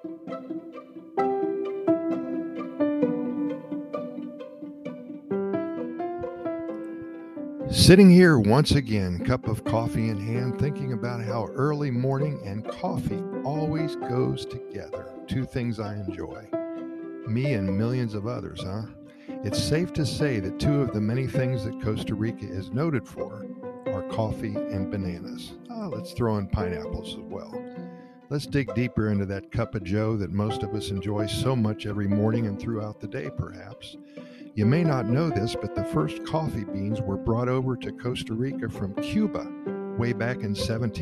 Sitting here once again, cup of coffee in hand, thinking about how early morning and coffee always goes together. Two things I enjoy. Me and millions of others, huh? It's safe to say that two of the many things that Costa Rica is noted for are coffee and bananas. Let's throw in pineapples as well. Let's dig deeper into that cup of joe that most of us enjoy so much every morning and throughout the day, perhaps. You may not know this, but the first coffee beans were brought over to Costa Rica from Cuba way back in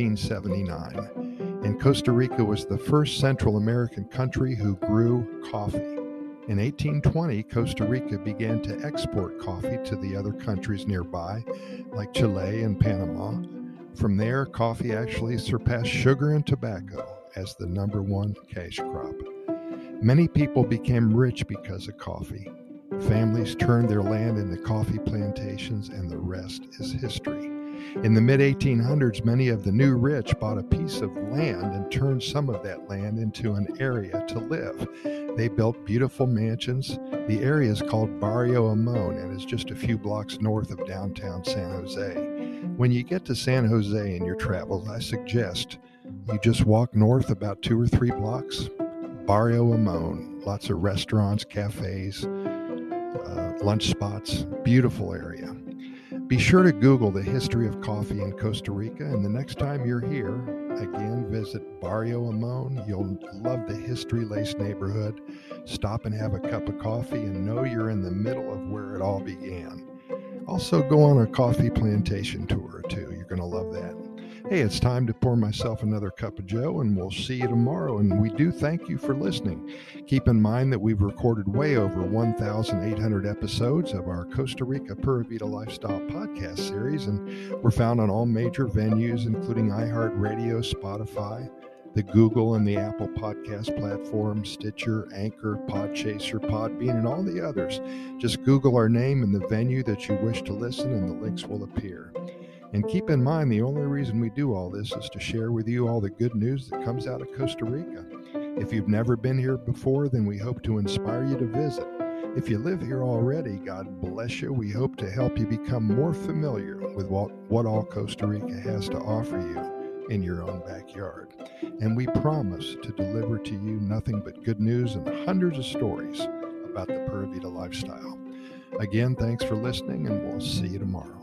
1779. And Costa Rica was the first Central American country who grew coffee. In 1820, Costa Rica began to export coffee to the other countries nearby, like Chile and Panama. From there, coffee actually surpassed sugar and tobacco as the number one cash crop. Many people became rich because of coffee. Families turned their land into coffee plantations, and the rest is history. In the mid-1800s, many of the new rich bought a piece of land and turned some of that land into an area to live. They built beautiful mansions. The area is called Barrio Amon and is just a few blocks north of downtown San Jose. When you get to San Jose in your travels, I suggest you just walk north about 2 or 3 blocks. Barrio Amon, lots of restaurants, cafes, lunch spots, beautiful area. Be sure to Google the history of coffee in Costa Rica, and the next time you're here, again, visit Barrio Amon. You'll love the history-laced neighborhood. Stop and have a cup of coffee and know you're in the middle of where it all began. Also, go on a coffee plantation tour or two. You're going to love that. Hey, it's time to pour myself another cup of joe, and we'll see you tomorrow. And we do thank you for listening. Keep in mind that we've recorded way over 1,800 episodes of our Costa Rica Pura Vida Lifestyle podcast series, and we're found on all major venues, including iHeartRadio, Spotify, the Google and the Apple podcast platforms, Stitcher, Anchor, Podchaser, Podbean, and all the others. Just Google our name and the venue that you wish to listen, and the links will appear. And keep in mind, the only reason we do all this is to share with you all the good news that comes out of Costa Rica. If you've never been here before, then we hope to inspire you to visit. If you live here already, God bless you. We hope to help you become more familiar with what all Costa Rica has to offer you in your own backyard. And we promise to deliver to you nothing but good news and hundreds of stories about the Pura Vida lifestyle. Again, thanks for listening, and we'll see you tomorrow.